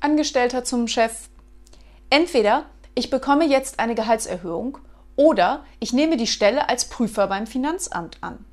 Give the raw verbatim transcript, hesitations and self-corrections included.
Angestellter zum Chef: Entweder ich bekomme jetzt eine Gehaltserhöhung oder ich nehme die Stelle als Prüfer beim Finanzamt an.